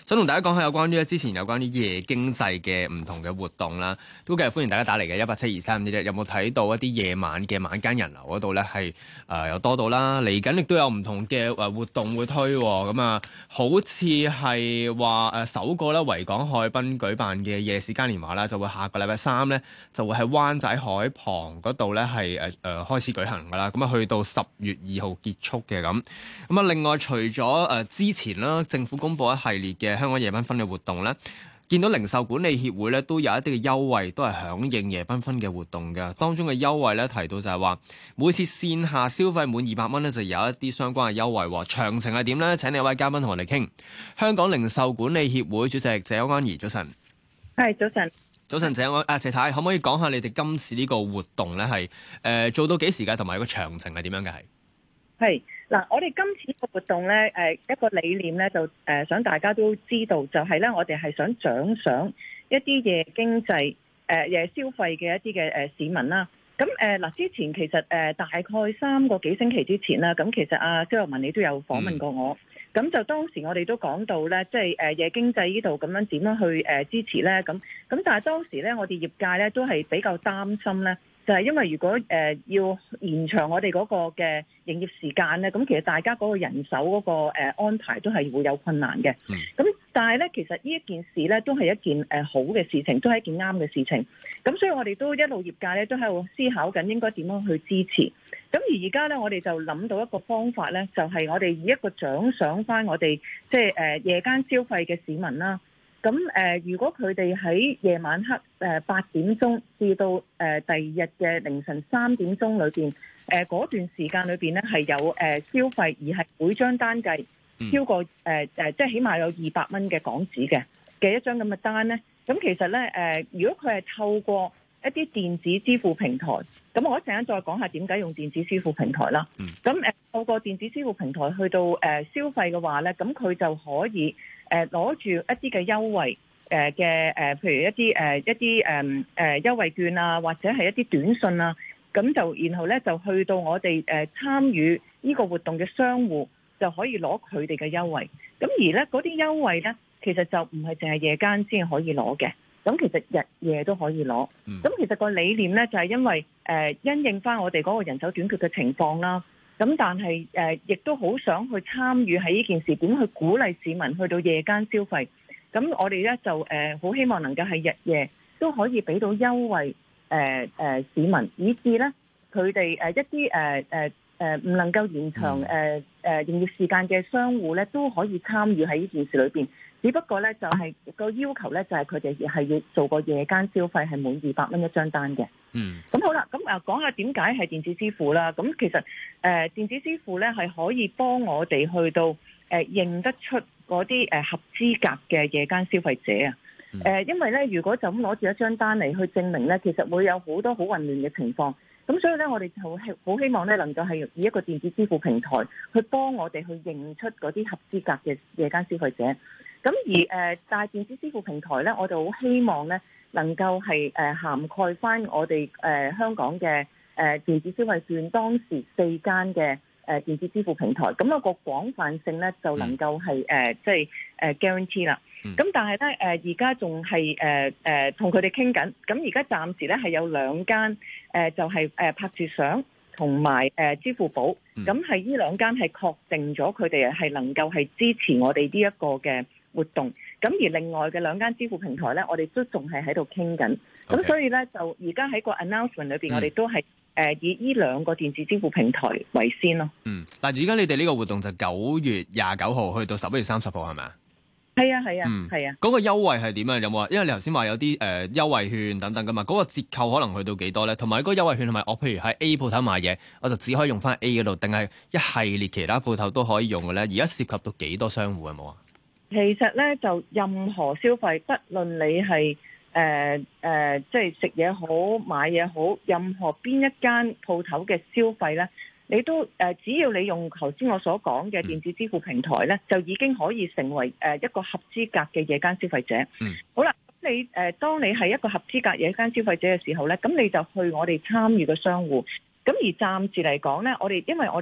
想同大家講下有關於之前有關於夜經濟嘅唔同嘅活動啦，都繼續歡迎大家打嚟嘅1872351，有冇睇到一啲夜晚嘅晚間人流嗰度咧係有多到啦？嚟緊亦都有唔同嘅活動會推喎，咁啊好似係話首個咧維港海濱舉辦嘅夜市嘉年華啦，就會下個禮拜3咧就會喺灣仔海旁嗰度咧係開始舉行噶啦，咁啊去到10月2號結束嘅咁。咁啊，另外除咗之前啦，政府公布一系列嘅香港夜繽紛嘅活動咧，見到零售管理協會咧都有一啲嘅優惠，都係響應夜繽紛嘅活動嘅。當中嘅優惠咧提到就係話，每次線下消費滿200蚊咧，就有一啲相關嘅優惠。詳情係點咧？請另一位嘉賓同我哋傾。香港零售管理協會主席謝安儀，早晨。 係早晨。 早晨，謝太，可唔可以講下你哋今次呢個活動咧係做到幾時㗎？同埋個詳情係點樣嘅？ 係嗱，我哋今次個活動咧，一個理念咧就想大家都知道，就係咧我哋係想獎賞一啲夜經濟夜消費嘅一啲嘅市民啦。咁嗱，之前其實大概3個幾星期之前啦，咁其實蕭若文你都有訪問過我，咁就當時我哋都講到咧，即係夜經濟呢度咁樣點樣去支持咧，咁但係當時咧我哋業界咧都係比較擔心咧。就係因為如果要延長我哋嗰個嘅營業時間咧，咁其實大家嗰個人手嗰個安排都係會有困難嘅。咁但係咧，其實呢一件事咧都係一件好嘅事情，都係一件啱嘅事情。咁所以我哋都一路業界咧都喺度思考緊應該點樣去支持。咁而家咧我哋就諗到一個方法咧，就係我哋以一個獎賞翻我哋即係夜間消費嘅市民啦。咁如果佢哋喺夜晚黑8點鐘至到第二日嘅凌晨3點鐘裏邊，嗰段時間裏邊咧係有消費，而係每張單計超過即係起碼有200蚊嘅港紙嘅一張咁嘅單咧，咁其實咧如果佢係透過一啲電子支付平台，咁我一陣間再講下點解用電子支付平台啦。咁透過電子支付平台去到消費嘅話咧，咁佢就可以攞住一啲嘅優惠嘅譬如一啲優惠券啊，或者係一啲短信啊，咁就然後咧就去到我哋參與呢個活動嘅商戶就可以攞佢哋嘅優惠。咁而咧嗰啲優惠咧，其實就唔係淨係夜間先可以攞嘅。咁其實日夜都可以攞。咁其實個理念咧就係因為因應翻我哋嗰個人手短缺嘅情況啦。咁但係亦都好想去參與喺呢件事，點去鼓勵市民去到夜間消費。咁我哋咧就好希望能夠係日夜都可以俾到優惠市民，以至咧佢哋一啲唔能夠延長營業時間嘅商戶咧都可以參與喺呢件事裏邊。只不過咧就係個要求咧就係佢哋係要做個夜間消費係滿200蚊一張單嘅。咁好啦，咁講下點解係電子支付啦。咁其實電子支付咧係可以幫我哋去到認得出嗰啲合資格嘅夜間消費者啊。因為咧如果就咁攞住一張單嚟去證明咧，其實會有好多好混亂嘅情況。咁所以咧我哋好希望咧能夠係以一個電子支付平台去幫我哋去認出嗰啲合資格嘅夜間消費者。咁而但係電子支付平台咧，我就好希望咧能夠係涵蓋翻我哋香港嘅電子消費券當時4間嘅電子支付平台，咁有個廣泛性咧就能夠係即係guarantee 啦。咁但係咧而家仲係同佢哋傾緊，咁而家暫時咧係有2間就係拍住賞同埋支付寶，咁係呢2間係確定咗佢哋係能夠係支持我哋呢一個嘅活動。咁而另外嘅2間支付平台咧，我哋都仲係喺度傾緊。咁所以咧就而家喺個 announcement 裏邊，我哋都係以呢2個電子支付平台為先咯。 但係而家你哋呢個活動就9月29號去到11月30號係咪啊？ 係啊係啊係啊。 嗰個優惠係點啊？有冇啊？因為你頭先話有啲優惠券等等噶嘛，嗰個折扣可能去到幾多咧？同埋嗰個優惠券係咪我譬如喺 A 鋪頭買嘢，我就只可以用翻 A 嗰度，定係一系列其他鋪頭都可以用嘅咧？而家涉及到幾多商戶有冇啊？ 其實咧就任何消費，不論你係即係食嘢好買嘢好，任何邊一間鋪頭嘅消費咧，你都只要你用頭先我所講嘅電子支付平台咧，就已經可以成為一個合資格嘅夜間消費者。好啦，咁你當你係一個合資格夜間消費者嘅時候咧，咁你就去我哋參與嘅商戶。咁而暫時嚟講咧，因為我哋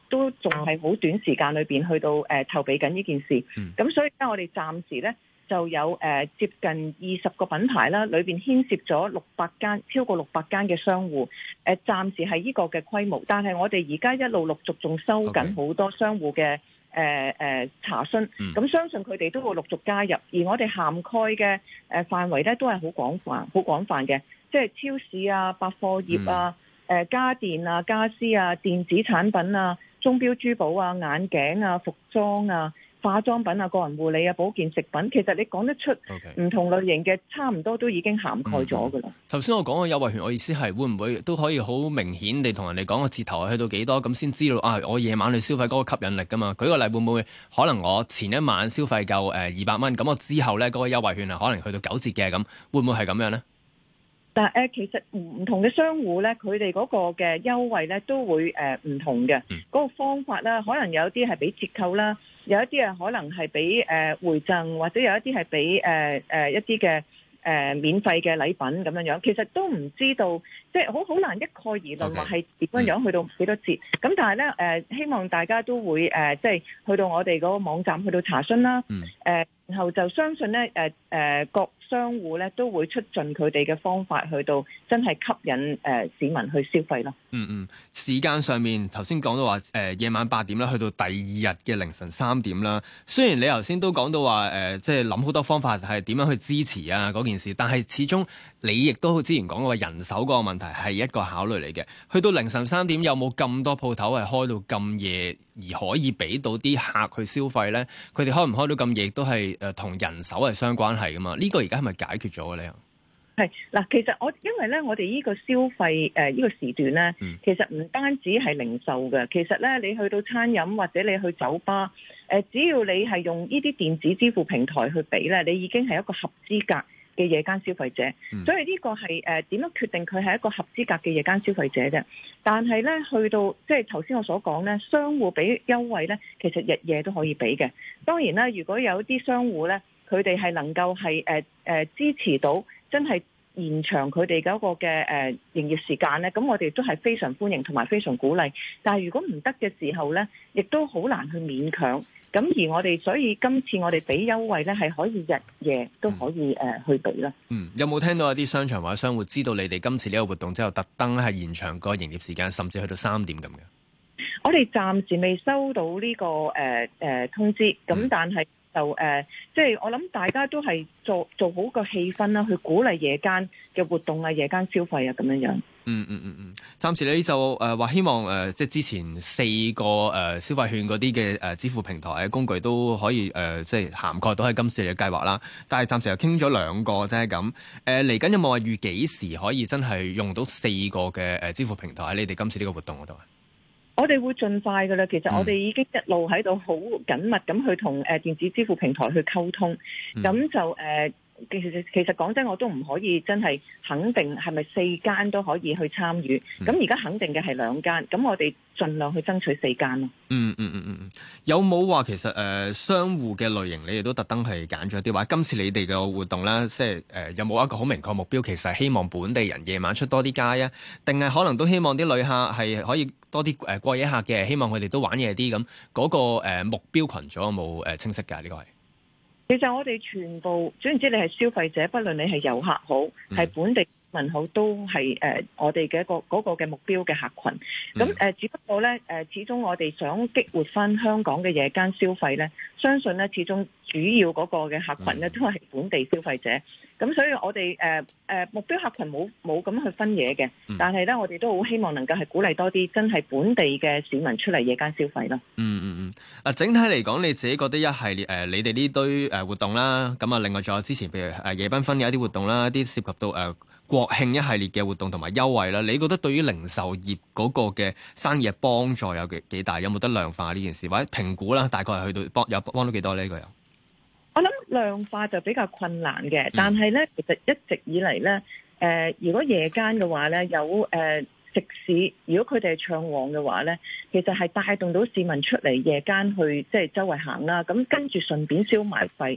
都仲係好短時間裏邊去到籌備緊呢件事。咁所以咧，我哋暫時咧就有接近20個品牌啦，裏邊牽涉咗600間，超過600間嘅商戶。暫時係呢個嘅規模，但係我哋而家一路陸續仲收緊好多商戶嘅查詢。咁相信佢哋都會陸續加入，而我哋涵蓋嘅範圍咧都係好廣泛嘅，即係超市啊、百貨業啊、家電啊、家私啊、電子產品啊、鐘錶珠寶啊、眼鏡啊、服裝啊、化妝品啊、個人護理啊、保健食品，其實你講得出唔同類型嘅，差唔多都已經涵蓋咗㗎啦。 頭先我講嘅優惠券，我意思係會唔會都可以好明顯地同人哋講個折頭係去到幾多，咁先知道我夜晚去消費嗰個吸引力㗎嘛？舉個例，會唔會可能我前一晚消費夠200蚊，咁我之後咧嗰個優惠券可能去到9折嘅，咁會唔會係咁樣咧？ 但其實唔同嘅商戶咧，佢哋嗰個嘅優惠咧都會唔同嘅。嗰個方法啦，可能有啲係俾折扣啦，有一啲可能係俾回贈，或者有一啲係俾一啲嘅免費嘅禮品咁樣樣。其實都唔知道，即係好難一概而論話係點樣樣去到幾多折。咁但係咧希望大家都會即係去到我哋嗰個網站去到查詢啦。然後就相信咧各商戶咧都會出盡佢哋嘅方法去到真係吸引市民去消費咯。 時間上面頭先講到話夜晚8點啦，去到第二日嘅凌晨3點啦。雖然你頭先都講到話即係諗好多方法係點樣去支持啊嗰件事，但係始終你亦都之前講過人手嗰個問題係一個考慮嚟嘅。去到凌晨3點有冇咁多鋪頭係開到咁夜而可以俾到啲客去消費咧？佢哋開唔開到咁夜都係同人手係相關係噶嘛？呢個而家係咪解決咗嘅咧？ 係嗱，其實因為咧，我哋呢個消費呢個時段咧，其實唔單止係零售嘅，其實咧你去到餐飲或者你去酒吧，只要你係用呢啲電子支付平台去俾咧，你已經係一個合資格嘅夜間消費者。所以呢個係點樣決定佢係一個合資格嘅夜間消費者啫？但係咧去到即係頭先我所講咧，商戶俾優惠咧，其實日夜都可以俾嘅。當然啦，如果有啲商戶咧，佢哋係能夠係支持到真係延長佢哋嗰個嘅營業時間咧，咁我哋都係非常歡迎同埋非常鼓勵。但係如果唔得嘅時候咧，亦都好難去勉強。咁而我哋所以今次我哋俾優惠咧，係可以日夜都可以去俾啦。 有冇聽到一啲商場或者商戶知道你哋今次呢個活動之後，特登係延長個營業時間，甚至去到3點咁嘅？ 我哋暫時未收到呢個通知，咁但係就即係我諗大家都係做好個氣氛啦，去鼓勵夜間嘅活動啊、夜間消費啊咁樣樣。 暫時你就話希望即係之前4個消費券嗰啲嘅支付平台嘅工具都可以即係涵蓋到喺今次嘅計劃啦。但係暫時又傾咗2個啫咁。嚟緊有冇話預幾時可以真係用到4個嘅支付平台喺你哋今次呢個活動嗰度啊？ 我哋會盡快㗎啦，其實我哋已經一路喺度好緊密咁去同電子支付平台去溝通，咁就其實講真，我都唔可以真係肯定係咪4間都可以去參與。咁而家肯定嘅係2間，咁我哋盡量去爭取4間咯。 有冇話其實商戶嘅類型，你哋都特登係揀咗啲話？今次你哋嘅活動啦，即係有冇一個好明確目標？其實係希望本地人夜晚出多啲街啊，定係可能都希望啲旅客係可以多啲過夜客嘅，希望佢哋都玩夜啲咁。嗰個目標群組有冇清晰㗎？呢個係？ 其實我哋全部，總言之，你係消費者，不論你係遊客好，係本地民好，都係我哋嘅嗰個嘅目標嘅客群。咁只不過咧始終我哋想激活翻香港嘅夜間消費咧，相信咧始終主要嗰個嘅客群咧都係本地消費者。咁所以我哋目標客群冇咁去分野嘅，但係咧我哋都好希望能夠係鼓勵多啲真係本地嘅市民出嚟夜間消費咯。 整體嚟講，你自己覺得一系列你哋呢堆活動啦，咁啊另外仲有之前譬如夜繽紛嘅一啲活動啦，一啲涉及到國慶一系列嘅活動同埋優惠啦，你覺得對於零售業嗰個嘅生意嘅幫助有幾大？有冇得量化呢件事，或者評估啦？大概係去到幫到幾多呢？呢個有？ 我諗量化就比較困難嘅，但係咧，其實一直以嚟咧，如果夜間嘅話咧，有食肆，如果佢哋係暢旺嘅話咧，其實係帶動到市民出嚟夜間去即係周圍行啦，咁跟住順便消埋費。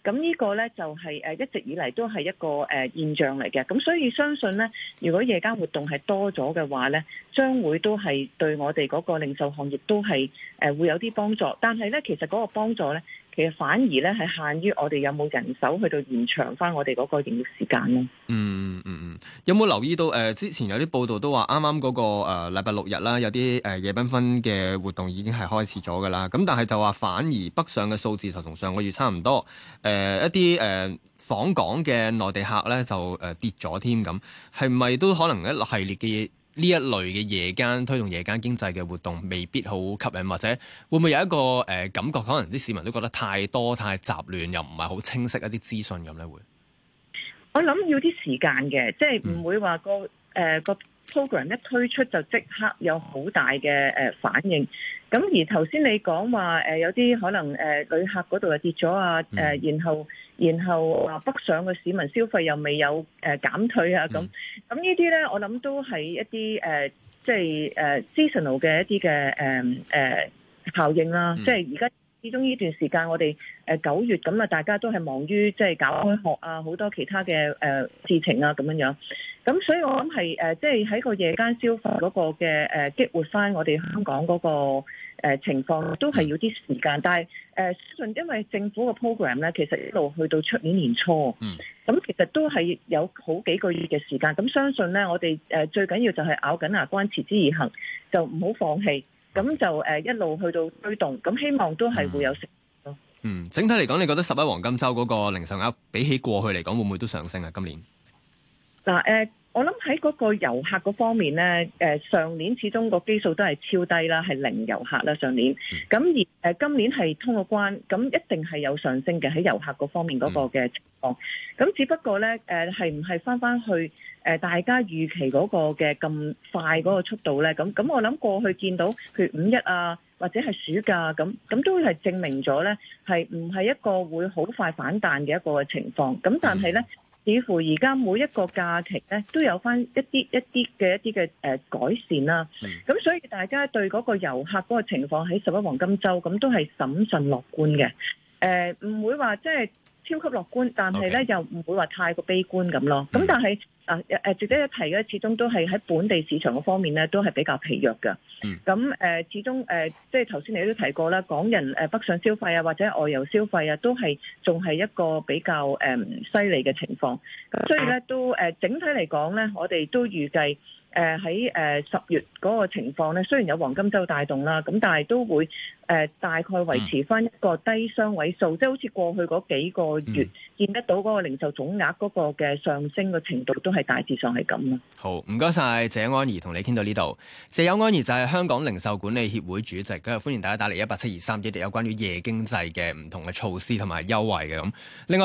咁呢個咧就係一直以嚟都係一個現象嚟嘅。咁所以相信咧，如果夜間活動係多咗嘅話咧，將會都係對我哋嗰個零售行業都係會有啲幫助。但係咧，其實嗰個幫助咧，其實反而咧係限於我哋有冇人手去到延長翻我哋嗰個營業時間咯。 有冇留意到之前有啲報道都話啱啱嗰個禮拜六日啦，有啲夜繽紛嘅活動已經係開始咗㗎啦。咁但係就話反而北上嘅數字就同上個月差唔多。一啲訪港嘅內地客咧就跌咗添咁，係咪都可能一系列嘅呢一類嘅夜間推動夜間經濟嘅活動未必好吸引，或者會唔會有一個感覺，可能啲市民都覺得太多太雜亂，又唔係好清晰一啲資訊咁咧？會我諗要啲時間嘅，即係唔會話個 program 一推出就即刻有好大嘅反應。咁而頭先你講話有啲可能旅客嗰度又跌咗啊，然後話北上嘅市民消費又未有減退啊，咁呢啲咧我諗都係一啲即係seasonal 嘅一啲嘅效應啦。即係而家始終呢段時間我哋9月咁啊，大家都係忙於即係搞開學啊，好多其他嘅事情啊咁樣。咁所以我諗係即係喺個夜間消費嗰個嘅激活翻我哋香港嗰個情況，都係要啲時間。但係因為政府個 program 咧，其實一路去到出年年初，咁其實都係有好幾個月嘅時間。咁相信咧，我哋最緊要就係咬緊牙關，持之以恆，就唔好放棄。咁就一路去到推動，咁希望都係會有成績咯。 整體嚟講，你覺得11黃金週嗰個零售額比起過去嚟講，會唔會都上升啊？今年嗱我諗喺嗰個遊客嗰方面咧，上年始終個基數都係超低啦，係零遊客啦上年。咁而今年係通過關，咁一定係有上升嘅喺遊客嗰方面嗰個嘅情況。咁只不過咧，係唔係翻去大家預期嗰個嘅咁快嗰個速度咧？咁我諗過去見到譬如5·1啊，或者係暑假咁都係證明咗咧，係唔係一個會好快反彈嘅一個情況。咁但係咧，似乎而家每一個假期咧都有翻一啲嘅改善啦。咁所以大家對嗰個遊客嗰個情況喺11黃金週咁都係審慎樂觀嘅。唔會話即係超級樂觀，但係咧又唔會話太過悲觀咁咯。咁但係值得一提嘅，始終都係喺本地市場嗰方面咧，都係比較疲弱嘅。咁始終即係頭先你都提過啦，港人北上消費啊，或者外遊消費啊，都係仲係一個比較犀利嘅情況。咁所以咧都整體嚟講咧，我哋都預計喺10月嗰個情況咧，雖然有黃金週帶動啦，咁但係都會大概維持翻一個低雙位數，即係好似過去嗰幾個月見得到嗰個零售總額嗰個嘅上升嘅程度，都係大致上係咁啦。 好，唔該晒謝安儀，同你傾到呢度。謝邱安儀就係香港零售管理協會主席，今日歡迎大家打嚟18723，有關於夜經濟嘅唔同嘅措施同埋優惠嘅咁。另外。